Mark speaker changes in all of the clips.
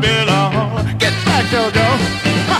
Speaker 1: belong. Get back, JoJo. Ha.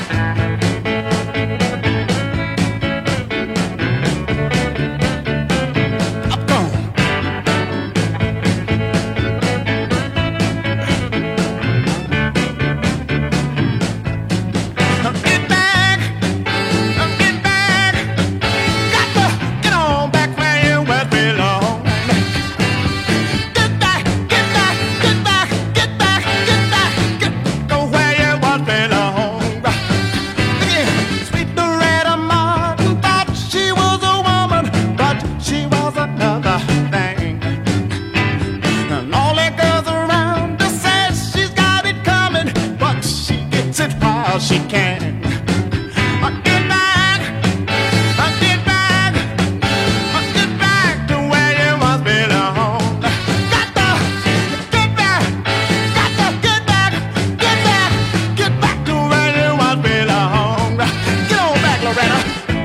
Speaker 1: She can. Get back, get back, get back to where you once belong. Got to get back, got to get back, get back, get back to where you once belong. Get on back, Loretta.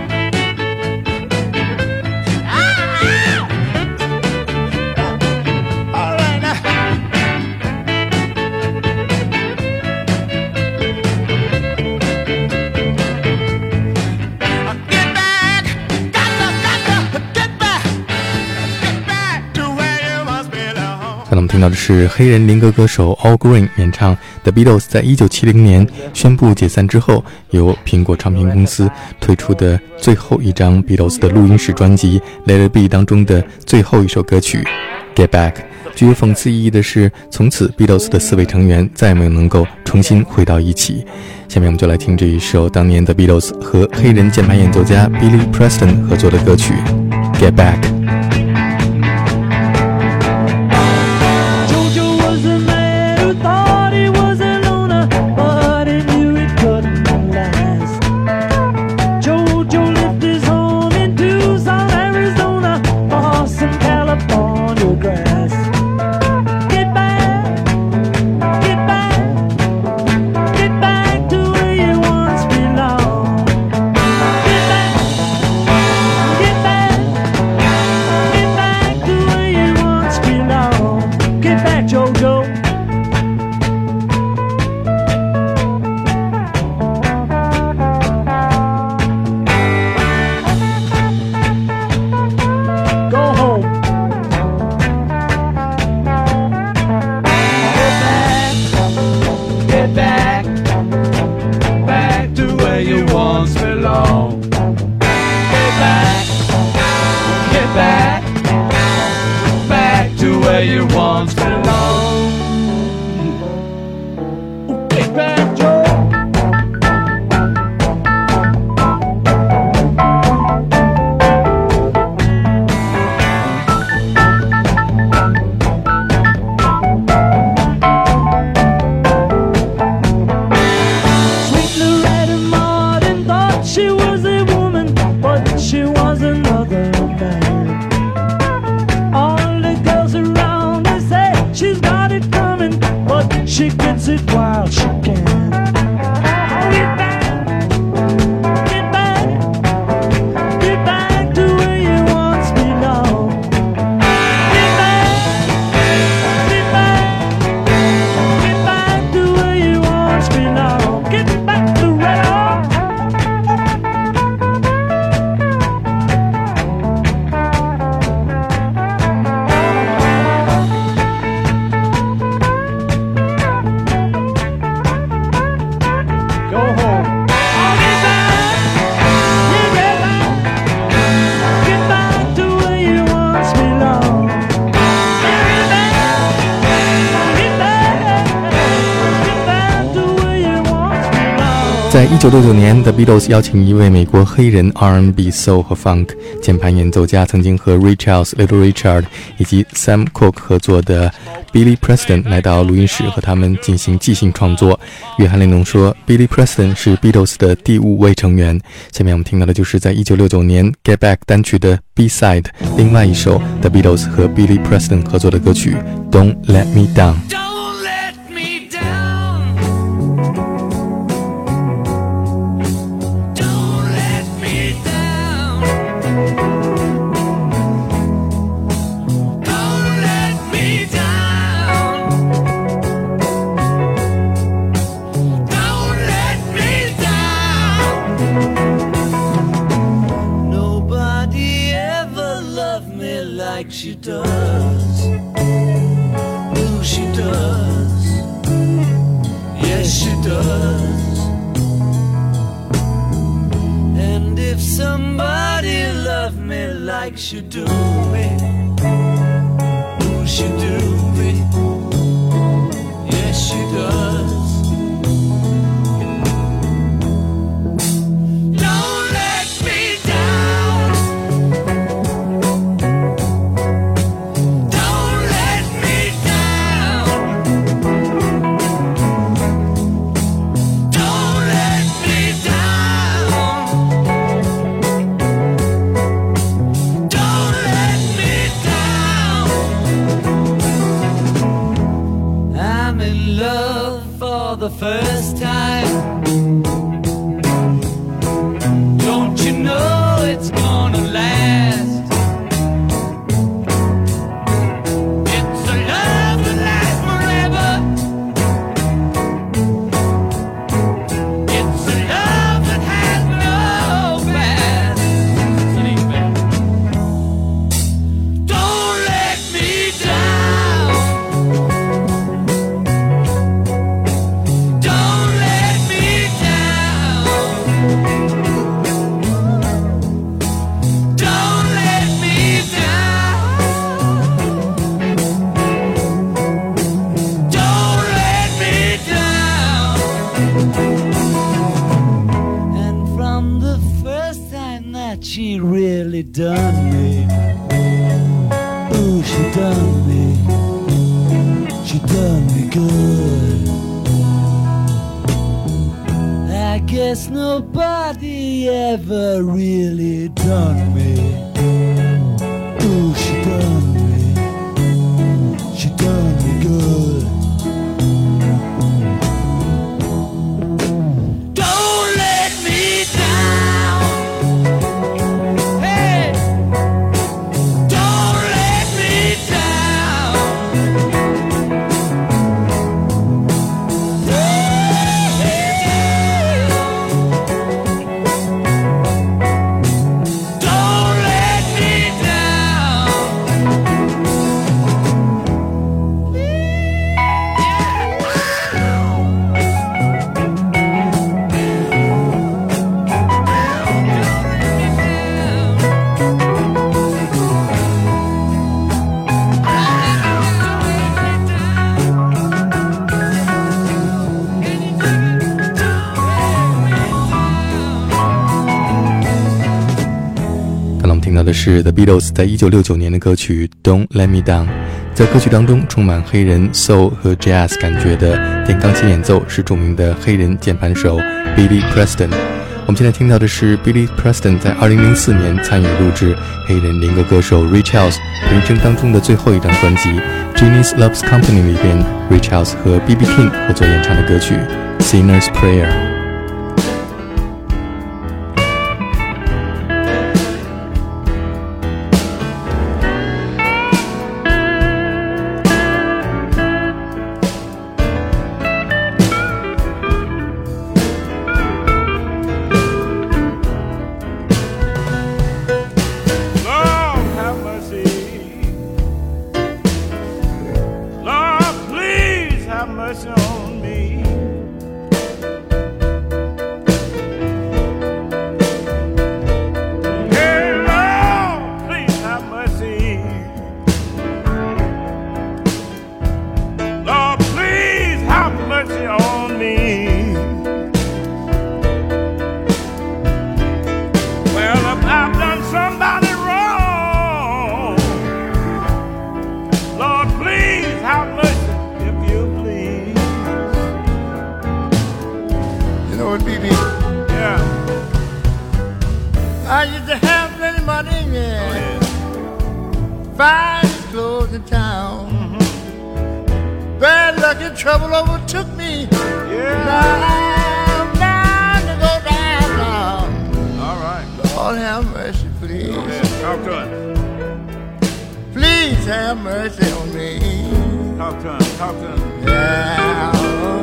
Speaker 1: All right now.
Speaker 2: 刚才我们听到的是黑人灵歌歌手 Al Green 演唱 The Beatles 在1970年宣布解散之后，由苹果唱片公司推出的最后一张 Beatles 的录音室专辑 Let It Be 当中的最后一首歌曲 Get Back。 具有讽刺意义的是，从此 Beatles 的4位成员再也没有能够重新回到一起。下面我们就来听这一首当年的 Beatles 和黑人键盘演奏家 Billy Preston 合作的歌曲 Get Back。
Speaker 3: She gets it while she can. Get back, get back, get back to where you once belong. Get back, get back, get back to where you once belong. Get back to right on.
Speaker 2: Go 在1969年 The Beatles 邀请一位美国黑人 R&B Soul 和 Funk 键盘演奏家，曾经和 Ray Charles、Little Richard 以及 Sam Cooke 合作的 Billy Preston 来到录音室和他们进行即兴创作。约翰列侬说 Billy Preston 是 Beatles 的第5位成员。下面我们听到的就是在1969年 Get Back 单曲的 B-side 另外一首 The Beatles 和 Billy Preston 合作的歌曲 Don't Let Me Down。
Speaker 3: Yes, she does. And if somebody loved me like she do me, who she do me? Yes, she does. Don't let me down. Don't let me down. Don't let me down. Don't let me down. I'm in love for the first time. Don't you know it's gonna last? It's a love that lasts forever. It's a love that has no past. Don't let me down. Don't let me down. Don't let me down. Don't let me down. And from the first time that she really done me, ooh, she done me. She done me good. I guess nobody ever really done me. Ooh, she done me. She done me good. Don't let me down. Hey, don't let me down. Don't let me down.
Speaker 2: 听到的是 The Beatles 在1969年的歌曲 Don't Let Me Down。 在歌曲当中充满黑人 soul 和 jazz 感觉的电钢琴演奏是著名的黑人键盘手 Billy Preston。 我们现在听到的是 Billy Preston 在2004年参与录制黑人灵歌歌手 Ray Charles 人生当中的最后一张专辑 Genius Loves Company 里边 Ray Charles 和 B.B. King 合作演唱的歌曲 Sinner's Prayer。
Speaker 1: Lord, have mercy. Lord, please have mercy on me. Hey, Lord, please have mercy. Lord, please have mercy on me. Well, if I've done somebody wrong, Lord, please have mercy, if you please.
Speaker 4: You know what, BB?
Speaker 1: Yeah.
Speaker 4: I used to have plenty money, yeah. Fine clothes in town. Bad luck and trouble overtook me.
Speaker 1: Yeah.
Speaker 4: Now I'm bound to go down.
Speaker 1: All right.
Speaker 4: Lord have mercy, please.
Speaker 1: Yeah, talk to him.
Speaker 4: Please have mercy on me.
Speaker 1: Talk to him. Talk to him.
Speaker 4: Yeah.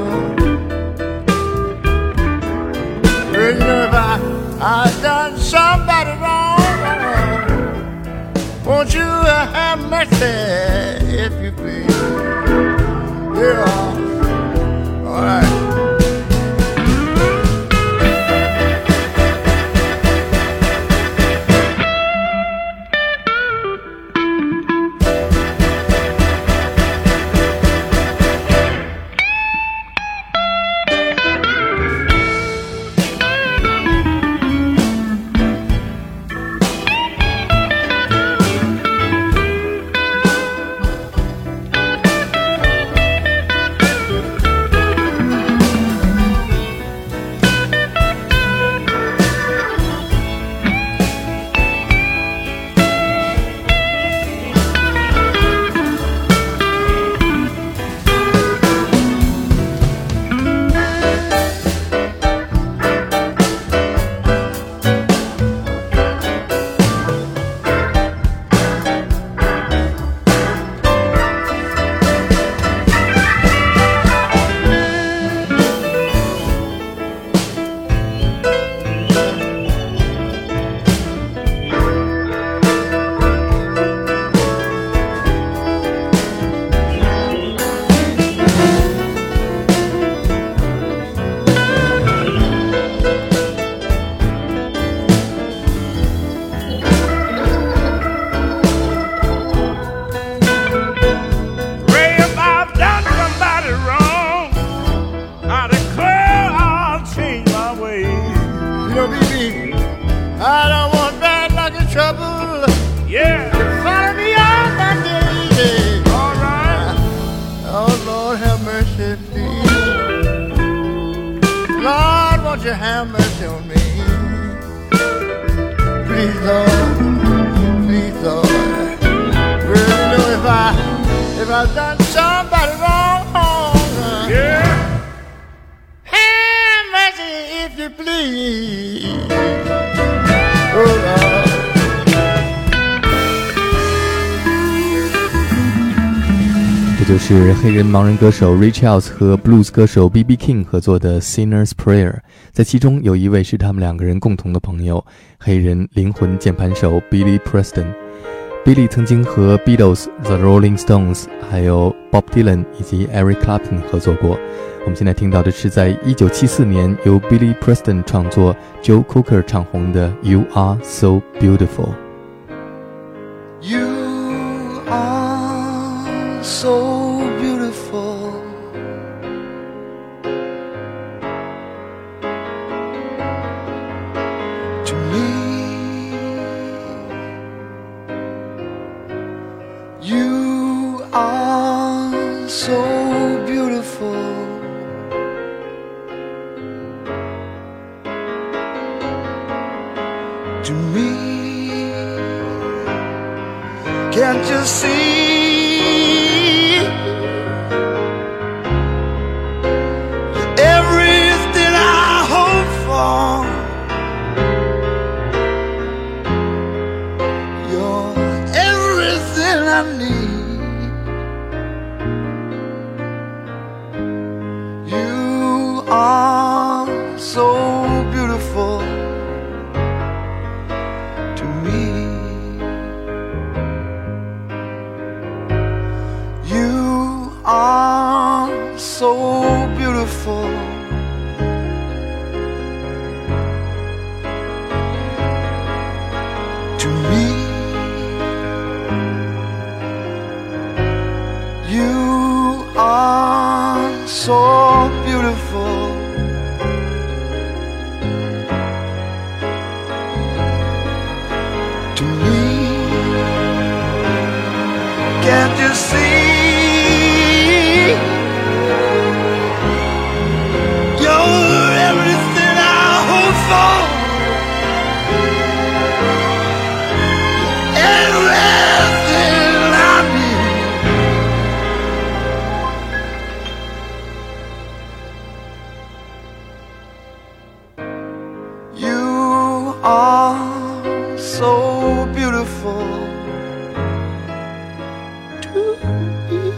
Speaker 4: Well, you know, if I've done somebody wrong, won't you have mercy, if you please? Yeah. All right. won't you have mercy on me? Please, Lord, please, Lord. Well, you know, if I've done somebody wrong, yeah, have mercy if you please. Oh, Lord.
Speaker 2: 这就是黑人盲人歌手 Ray Charles 和 Blues 歌手 B.B. King 合作的 Sinner's Prayer， 在其中有一位是他们两个人共同的朋友，黑人灵魂键盘手 Billy Preston。Billy 曾经和 Beatles、The Rolling Stones 还有 Bob Dylan 以及 Eric Clapton 合作过。我们现在听到的是在1974年由 Billy Preston 创作 Joe Cocker 唱红的 You Are So Beautiful。
Speaker 4: You are so beautiful, to me. You are so beautiful, to me. Can't you see? Everything I hope for, you're everything I need. You are so beautiful to me. You are so beautiful to me. You are so beautiful to me. Can't you see? You're everything I hope for, everything I need. You are so beautiful to me.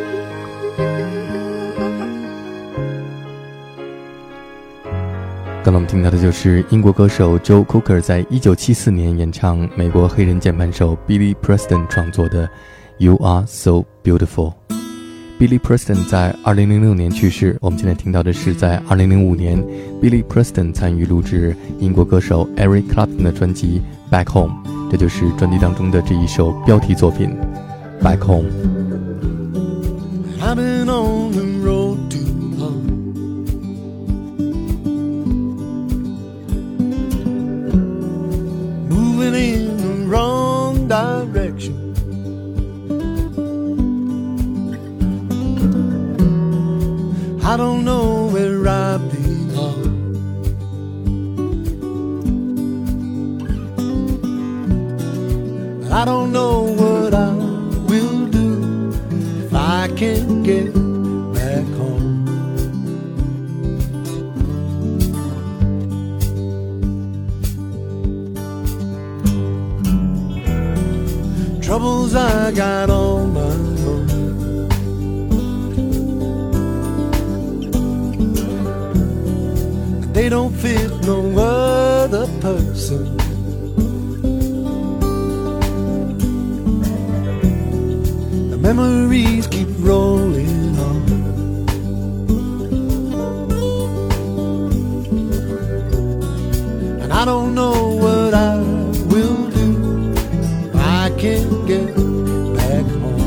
Speaker 2: 刚才我们听到的就是英国歌手 Joe Cocker 在1974年演唱美国黑人键盘手 Billy Preston 创作的 You Are So Beautiful。Billy Preston 在2006年去世，我们现在听到的是在2005年 Billy Preston 参与录制英国歌手 Eric Clapton 的专辑 Back Home， 这就是专辑当中的这一首标题作品 Back Home。
Speaker 4: I've been on the road too long, moving in the wrong direction. I don't know where I belong. I don't know what I will do if I can't get back home. Troubles I got on my own. They don't fit no other person. The memories keep rolling on. And I don't know what I will do if I can't get back home.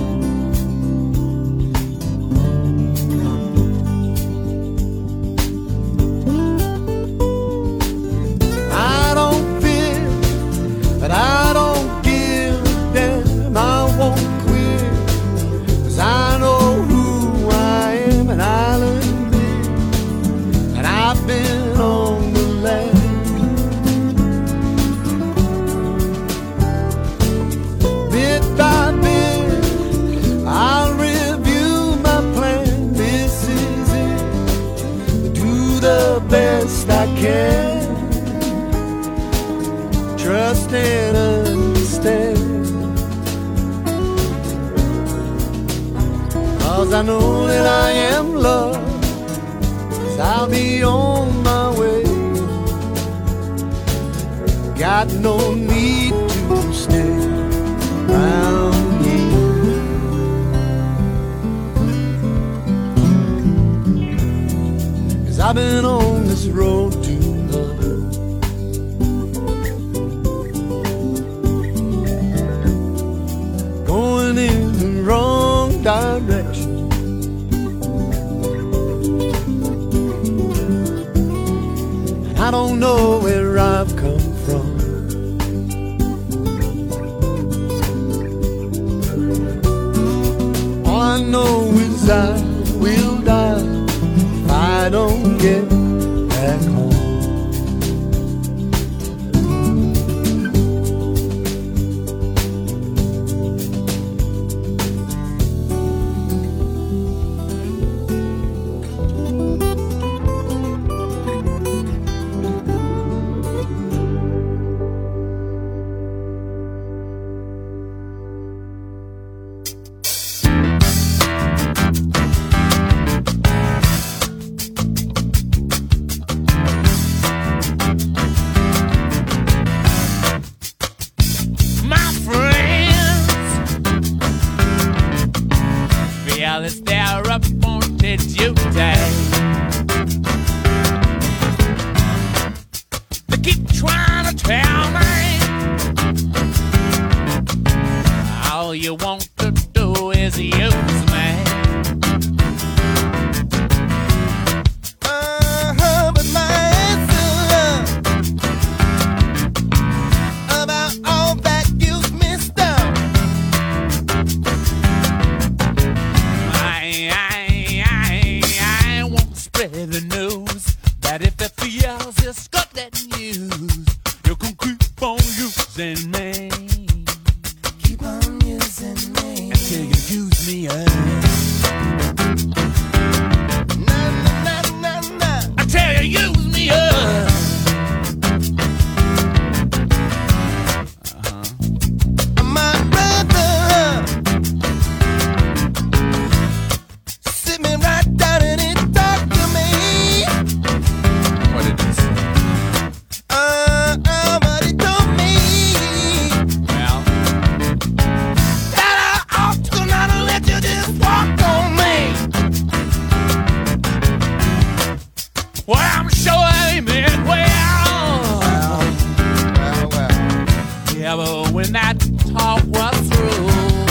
Speaker 4: I don't fear, but I don't give a damn. I won't quit, 'cause I know who I am and I'll admit that I've been on best I can. Trust and understand. 'Cause I know that I am loved, 'cause I'll be on my way. Got no need to stay around here. 'Cause I've been on this road too long. Going in the wrong direction. I don't know where I've come from. All I know is I will die if I don't get back home.
Speaker 5: It's their appointed duty. They keep trying to tell me all you want to do is use me.
Speaker 4: But my answer about all that you've missed out.
Speaker 5: I won't spread the news that if it feels it's got that news, you can keep on using me.
Speaker 4: Keep on using me
Speaker 5: until you use me up. Until you use me up.
Speaker 4: My brother, sit me right down and he talked to me.
Speaker 5: What did he say?
Speaker 4: But he told me
Speaker 5: Well,
Speaker 4: that I ought to not let you just walk on me.
Speaker 5: well, I'm sure he meant well. Yeah, but when that talk was through,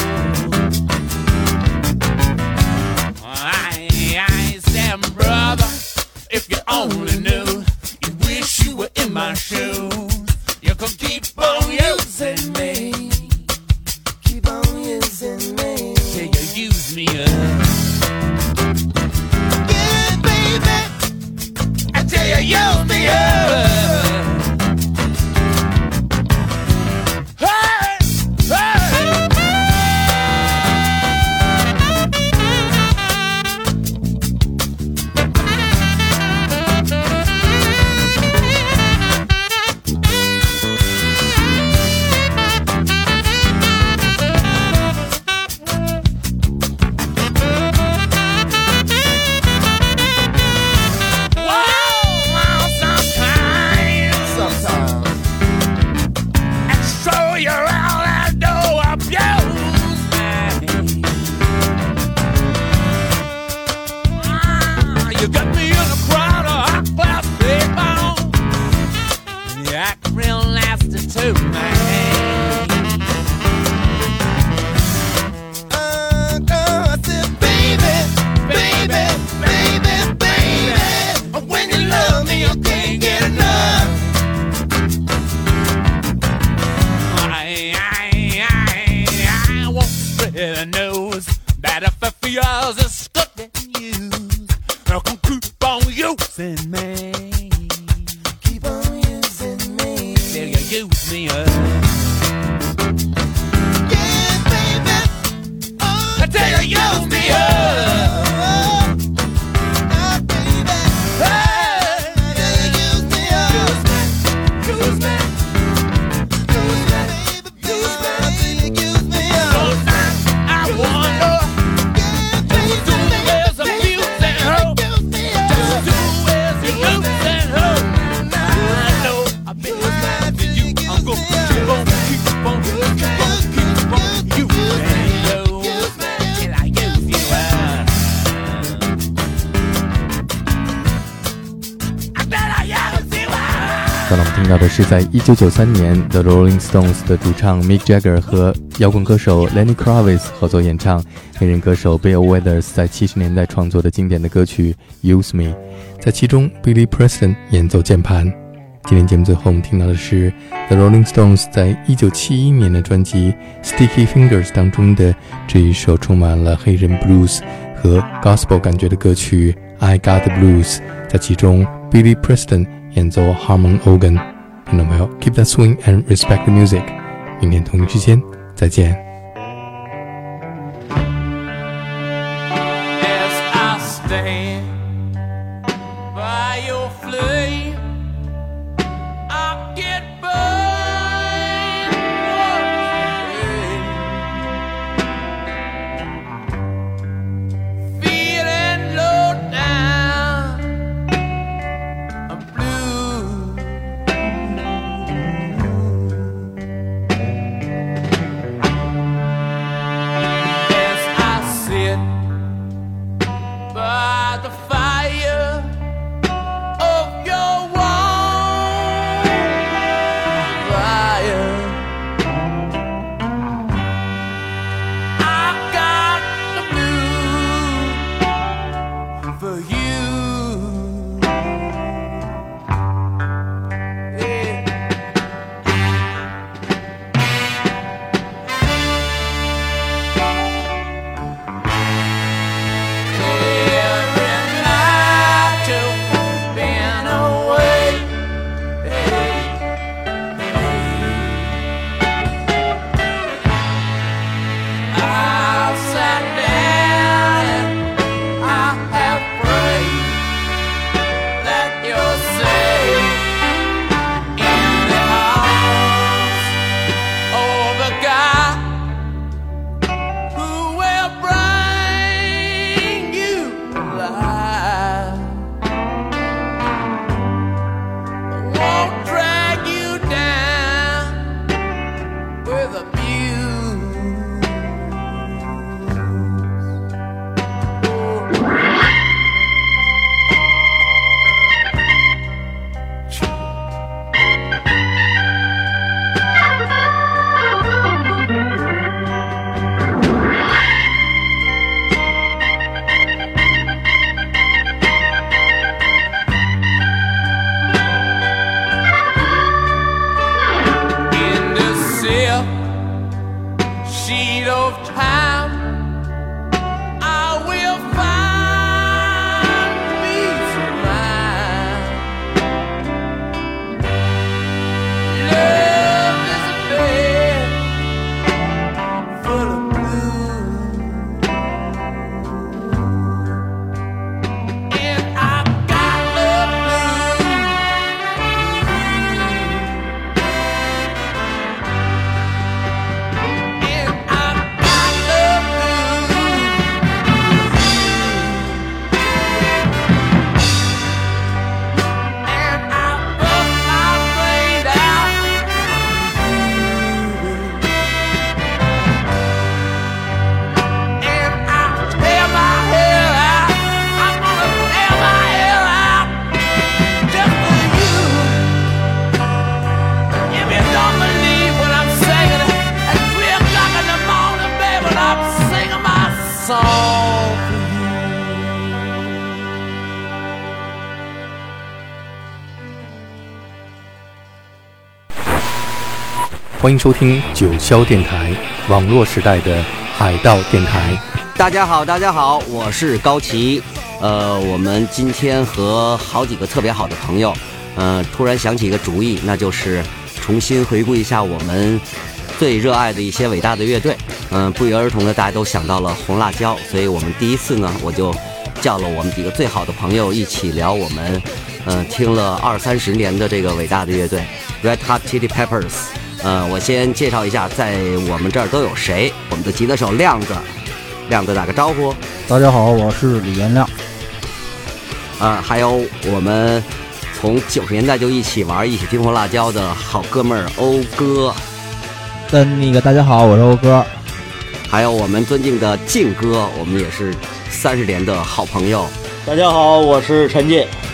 Speaker 5: I said, brother, if you only knew, you wish you were in my shoes. You could keep on using me.
Speaker 4: Keep on using me.
Speaker 5: Till you use me up.
Speaker 4: Yeah, baby.
Speaker 5: Until you use me up. Hey, hey. You got me in a crowd of high-class people. You act real nasty too, man.
Speaker 4: I said, baby, baby, baby, baby. When you love me, you can't get enough.
Speaker 5: I won't spread the news that if it feels it's good to use, you can keep on using me.
Speaker 4: Keep on using me.
Speaker 5: Till you use me up.
Speaker 4: Yeah, baby. Oh,
Speaker 5: Till you use me up.
Speaker 4: baby.
Speaker 5: Hey,
Speaker 4: Till you
Speaker 2: 刚才我们听到的是在1993年 The Rolling Stones 的主唱 Mick Jagger 和摇滚歌手 Lenny Kravitz 合作演唱黑人歌手 Bill Withers 在70年代创作的经典的歌曲 Use Me， 在其中 Billy Preston 演奏键盘。今天节目最后我们听到的是 The Rolling Stones 在1971年的专辑 Sticky Fingers 当中的这一首充满了黑人 blues 和 gospel 感觉的歌曲 I Got the Blues， 在其中 Billy Preston 演奏 Harmon Organ。 听众朋友 Keep that swing and respect the music， 明天同一时间再见。欢迎收听九霄电台，网络时代的海盗电台。
Speaker 6: 大家好，我是高奇。我们今天和好几个特别好的朋友，突然想起一个主意，那就是重新回顾一下我们最热爱的一些伟大的乐队。不约而同的大家都想到了红辣椒，所以我们第一次呢，我就叫了我们几个最好的朋友一起聊我们听了20-30年的这个伟大的乐队 Red Hot Chili Peppers。我先介绍一下在我们这儿都有谁。我们的吉他手亮子打个招呼。
Speaker 7: 大家好，我是李元亮。
Speaker 6: 还有我们从90年代就一起玩一起听红辣椒的好哥们儿欧哥。
Speaker 7: 大家好，我是欧哥。
Speaker 6: 还有我们尊敬的靖哥，我们也是30年的好朋友。
Speaker 8: 大家好，我是陈进。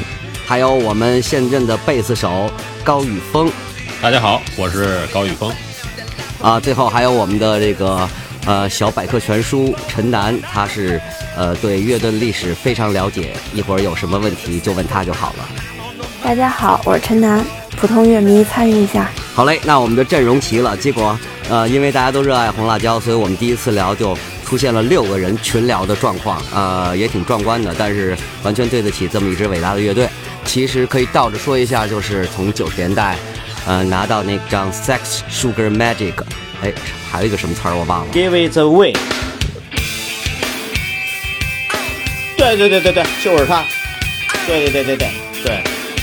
Speaker 6: 还有我们现任的贝斯手高宇峰。
Speaker 8: 大家好，我是高宇峰。
Speaker 6: 最后还有我们的这个小百科全书陈楠，他是对乐队历史非常了解，一会儿有什么问题就问他就好了。
Speaker 9: 大家好，我是陈楠，普通乐迷参与一下。
Speaker 6: 好嘞，那我们的阵容齐了，结果因为大家都热爱红辣椒，所以我们第一次聊就出现了6个人群聊的状况，也挺壮观的，但是完全对得起这么一支伟大的乐队。其实可以倒着说一下，就是从90年代拿到那张 Sex Sugar Magic， 还有一个什么词儿我忘了
Speaker 10: Give it away。 对，就是他。对。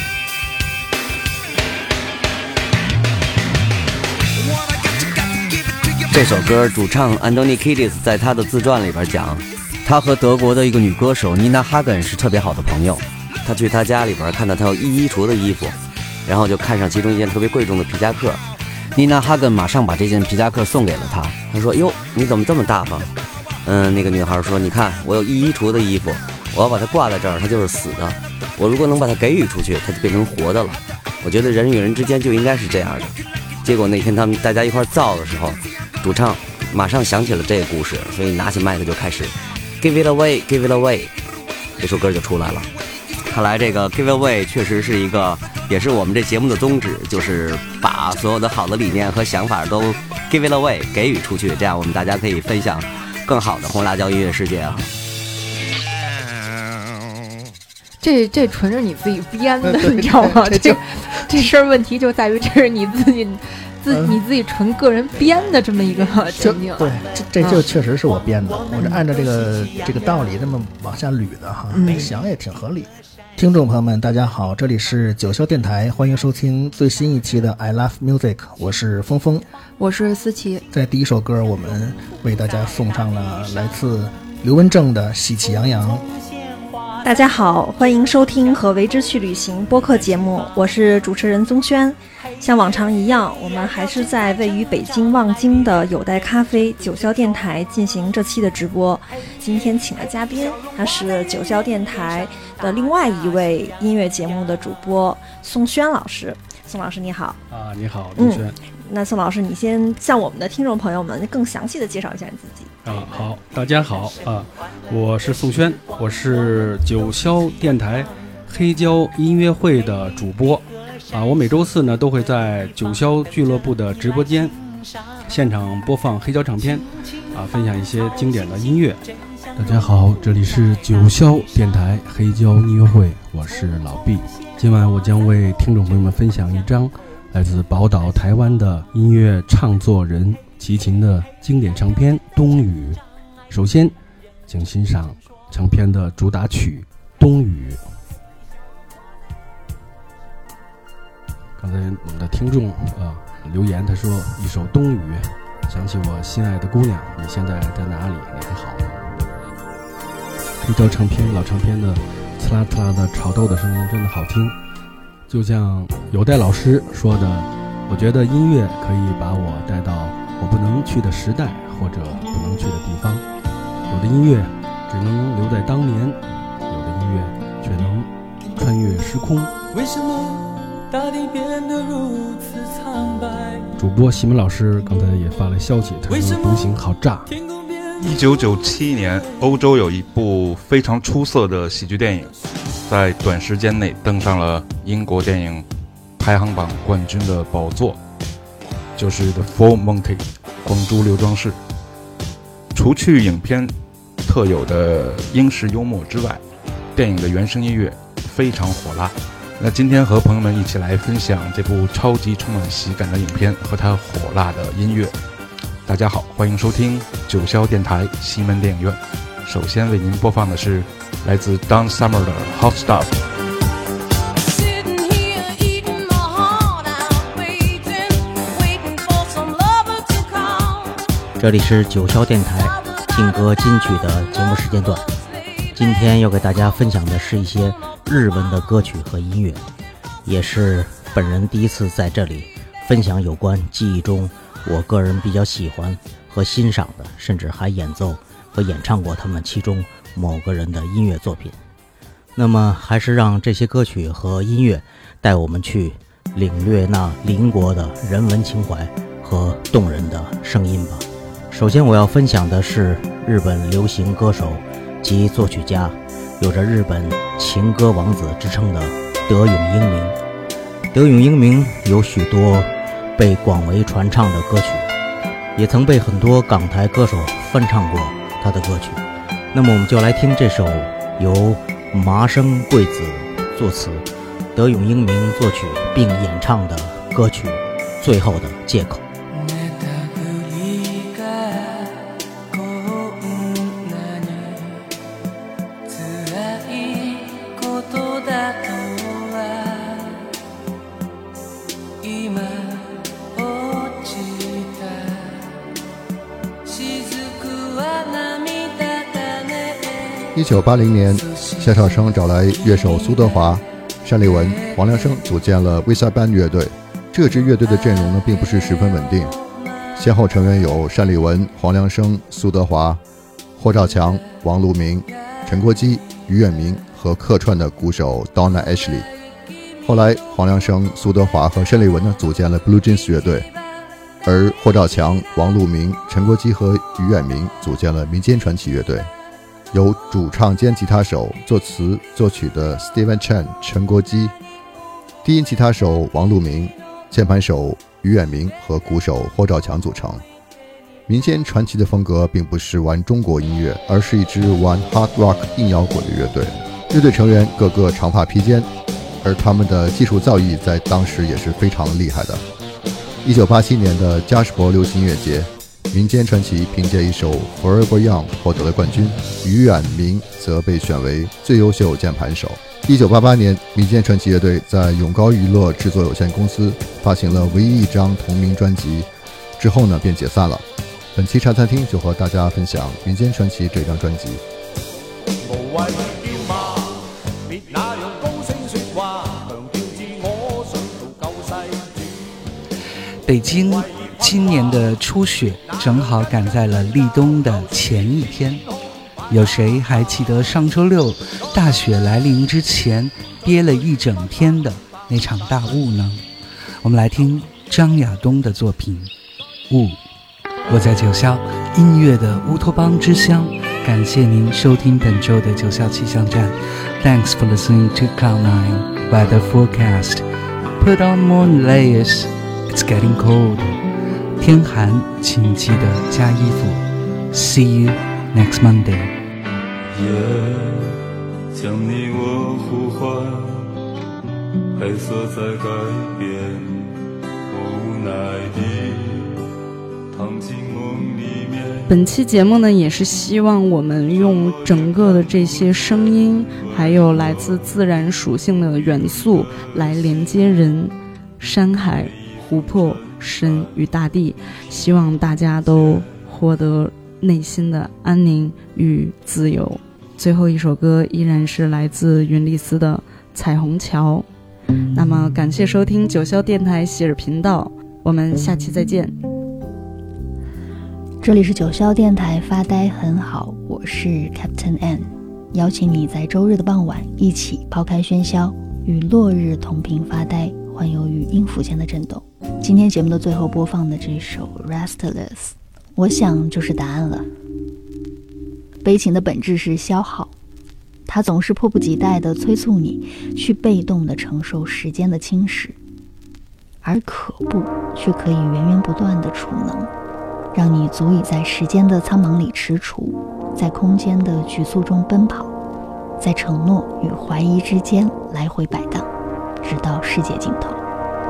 Speaker 6: 这首歌主唱 Anthony Kiedis 在他的自传里边讲，他和德国的一个女歌手 Nina Hagen 是特别好的朋友。他去他家里边看到他有衣橱的衣服，然后就看上其中一件特别贵重的皮夹克。Nina Hagen 马上把这件皮夹克送给了他。他说：“哟，你怎么这么大方？”那个女孩说：“你看，我有衣橱的衣服，我要把它挂在这儿，它就是死的。我如果能把它给予出去，它就变成活的了。我觉得人与人之间就应该是这样的。”结果那天大家一块造的时候，主唱马上想起了这个故事，所以拿起麦克就开始 Give it away, Give it away， 这首歌就出来了。看来这个 Give it away 确实是一个，也是我们这节目的宗旨，就是把所有的好的理念和想法都 Give it away 给予出去，这样我们大家可以分享更好的红辣椒音乐世界啊。
Speaker 11: 这纯是你自己编的，你知道吗？这事儿问题就在于这是你自己纯个人编的这么一个情景。
Speaker 12: 对，这就确实是我编的，我这按照这个道理这么往下捋的哈，想也挺合理。听众朋友们，大家好，这里是九霄电台，欢迎收听最新一期的 I Love Music， 我是峰峰，
Speaker 11: 我是思琪。在
Speaker 12: 第一首歌，我们为大家送上了来自刘文正的《喜气洋洋》。
Speaker 9: 大家好，欢迎收听和为之去旅行播客节目，我是主持人宗轩。像往常一样，我们还是在位于北京望京的有待咖啡九霄电台进行这期的直播。今天请的嘉宾，他是九霄电台的另外一位音乐节目的主播宋轩老师。宋老师你好。
Speaker 13: 你好，宗轩。
Speaker 9: 那宋老师，你先向我们的听众朋友们更详细的介绍一下你自己。
Speaker 13: 好，大家好我是宋轩，我是九霄电台黑胶音乐会的主播我每周四呢都会在九霄俱乐部的直播间现场播放黑胶唱片分享一些经典的音乐。
Speaker 14: 大家好，这里是九霄电台黑胶音乐会，我是老毕。今晚我将为听众朋友们分享一张来自宝岛台湾的音乐唱作人齐秦的经典唱片《冬雨》。首先请欣赏唱片的主打曲《冬雨》。刚才我们的听众留言，他说一首《冬雨》想起我心爱的姑娘，你现在在哪里？你还好吗？黑胶唱片老唱片的刺啦刺啦的炒豆的声音真的好听，就像有代老师说的，我觉得音乐可以把我带到我不能去的时代或者不能去的地方。有的音乐只能留在当年，有的音乐却能穿越时空。
Speaker 3: 为什么大地变得如此苍白？
Speaker 14: 主播西门老师刚才也发了消息，他说独行好炸。
Speaker 15: 1997年，欧洲有一部非常出色的喜剧电影，在短时间内登上了英国电影排行榜冠军的宝座，就是《The Full Monty》光珠刘庄士。除去影片特有的英式幽默之外，电影的原声音乐非常火辣。那今天和朋友们一起来分享这部超级充满喜感的影片和它火辣的音乐。大家好，欢迎收听九霄电台西门电影院。首先为您播放的是来自 Don Summer 的 Hot Stuff。
Speaker 16: 这里是九霄电台听歌金曲的节目时间段，今天要给大家分享的是一些日文的歌曲和音乐，也是本人第一次在这里分享有关记忆中我个人比较喜欢和欣赏的，甚至还演奏和演唱过他们其中某个人的音乐作品。 那么还是让这些歌曲和音乐带我们去领略那邻国的人文情怀和动人的声音吧。首先我要分享的是日本流行歌手及作曲家，有着日本情歌王子之称的德永英明。德永英明有许多被广为传唱的歌曲，也曾被很多港台歌手翻唱过他的歌曲。那么我们就来听这首由麻生贵子作词，德永英明作曲并演唱的歌曲《最后的借口》。
Speaker 17: 1980年，夏绍生找来乐手苏德华、单立文、黄良生组建了 Visa Band 乐队。这支乐队的阵容呢，并不是十分稳定，先后成员有单立文、黄良生、苏德华、霍兆强、王路明、陈国基、于远明和客串的鼓手 Donna Ashley。后来，黄良生、苏德华和单立文呢组建了 Blue Jeans 乐队，而霍兆强、王路明、陈国基和于远明组建了民间传奇乐队。由主唱兼吉他手、作词作曲的 Steven Chen 陈国基，低音吉他手王路明，键盘手于远明和鼓手霍兆强组成。民间传奇的风格并不是玩中国音乐，而是一支玩 hard rock 硬摇滚的乐队。乐队成员个个长发披肩，而他们的技术造诣在当时也是非常厉害的。1987年的加士伯流行音乐节，民间传奇凭借一首 Forever Young 获得了冠军，于远明则被选为最优秀键盘手。1988年，民间传奇乐队在永高娱乐制作有限公司发行了唯一一张同名专辑，之后呢便解散了。本期茶餐厅就和大家分享民间传奇这张专辑。
Speaker 1: 無謂叫罵，別那樣高聲説話，強調自我想做救世主。
Speaker 18: 北京今年的初雪正好赶在了立冬的前一天，有谁还记得上周六大雪来临之前憋了一整天的那场大雾呢？我们来听张亚东的作品《雾》。我在九霄音乐的乌托邦之乡，感谢您收听本周的九霄气象站。 Thanks for listening to Cloud9 Weather Forecast. Put on more layers, it's getting cold. 天寒请记得加衣服。 See you next Monday.
Speaker 19: 夜将你我呼唤，黑色在改变，无奈地躺进梦里面。
Speaker 20: 本期节目呢，也是希望我们用整个的这些声音，还有来自自然属性的元素来连接人、山海、湖泊、神与大地，希望大家都获得内心的安宁与自由。最后一首歌依然是来自云丽丝的《彩虹桥》。那么感谢收听九霄电台喜尔频道，我们下期再见。
Speaker 21: 这里是九霄电台发呆很好，我是 Captain N， 邀请你在周日的傍晚一起抛开喧嚣，与落日同频发呆，环游于音符间的震动。今天节目的最后播放的这首 Restless， 我想就是答案了。悲情的本质是消耗，它总是迫不及待地催促你去被动地承受时间的侵蚀，而可怖却可以源源不断地储能，让你足以在时间的苍茫里踟蹰，在空间的局促中奔跑，在承诺与怀疑之间来回摆荡，直到世界尽头。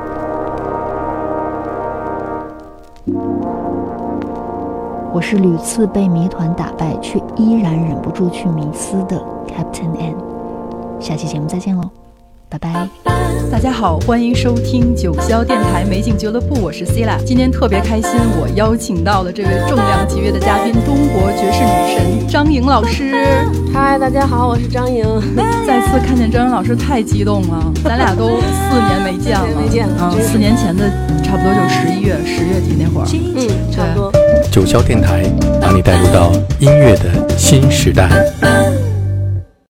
Speaker 21: 我是屡次被谜团打败却依然忍不住去迷思的 Captain N， 下期节目再见喽，拜拜。
Speaker 22: 大家好，欢迎收听九霄电台美景俱乐部，我是 Cila。今天特别开心，我邀请到了这位重量级别的嘉宾，中国爵士女神张颖老师。
Speaker 23: 嗨，大家好，我是张颖。
Speaker 22: 再次看见张颖老师太激动了，咱俩都4年没见了，
Speaker 23: 没见了。
Speaker 22: 4年前的差不多就是10月底那会儿。
Speaker 23: 差不多。
Speaker 2: 九霄电台把你带入到音乐的新时代。